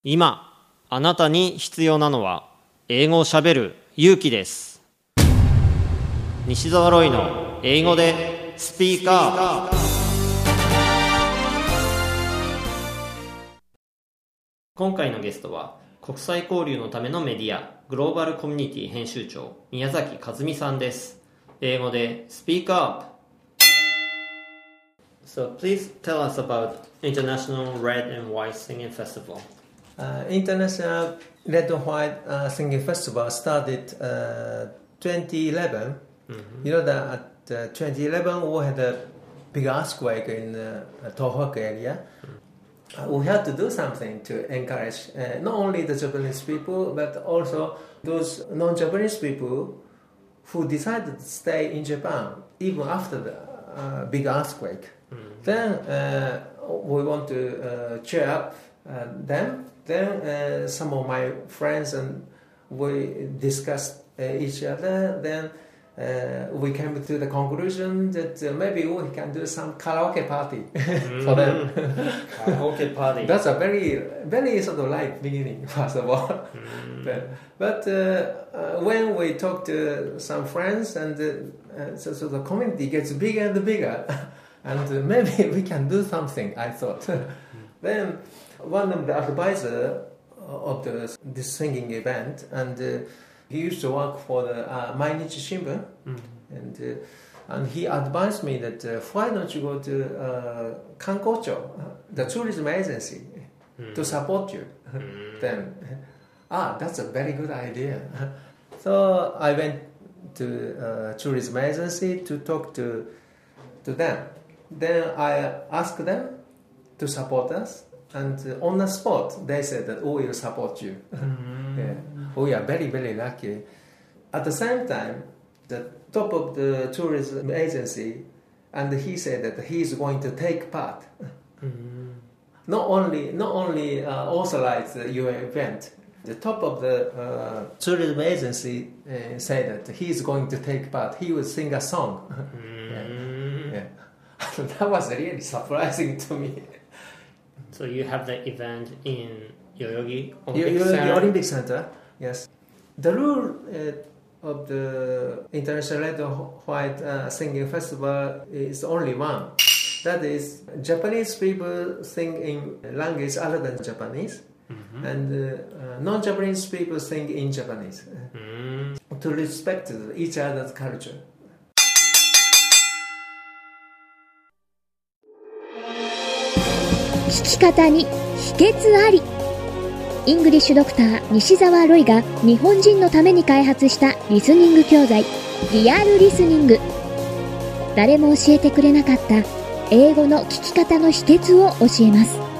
今あなたに必要なのは英語をしゃべる勇気です。西澤ロイの英語でスピーカー。今回のゲストは国際交流のためのメディアグローバルコミュニティ編集長宮崎和美さんです。英語でスピーカー。So please tell us about International Red and White Singing Festival.International Red and White Singing Festival started 2011. You know that at 2011 we had a big earthquake in Tohoku area. We had to do something to encourage not only the Japanese people but also those non-Japanese people who decided to stay in Japan even after the big earthquake. Then we want to cheer up them.Then some of my friends and we discussed each other. Then we came to the conclusion that maybe we can do some karaoke party for them. Karaoke party. That's a very, very sort of light beginning, first of all. But when we talk to some friends and so the community gets bigger and bigger, and maybe we can do something, I thought. Then one of the advisors of this singing event, and he used to work for the Mainichi Shimbun, and he advised me that why don't you go to Kankocho, the tourism agency, to support you. Then, that's a very good idea. So I went to tourism agency to talk to them. Then I asked them to support us.And on the spot, they said that we will support you. Yeah. We are very, very lucky. At the same time, the top of the tourism agency, and he said that he is going to take part. Not only authorize your event. The top of the tourism agency said that he is going to take part. He will sing a song. Yeah. That was really surprising to me.So you have the event in Yoyogi Olympic Center? Yes. The rule of the International Red and White Singing Festival is only one. That is, Japanese people sing in language other than Japanese, and non-Japanese people sing in Japanese to respect each other's culture. 聞き方に秘訣あり。イングリッシュドクター西澤ロイが日本人のために開発したリスニング教材リアルリスニング。誰も教えてくれなかった英語の聞き方の秘訣を教えます。